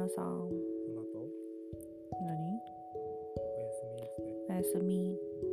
なさん。 その後何？ おやすみって。 おやすみ。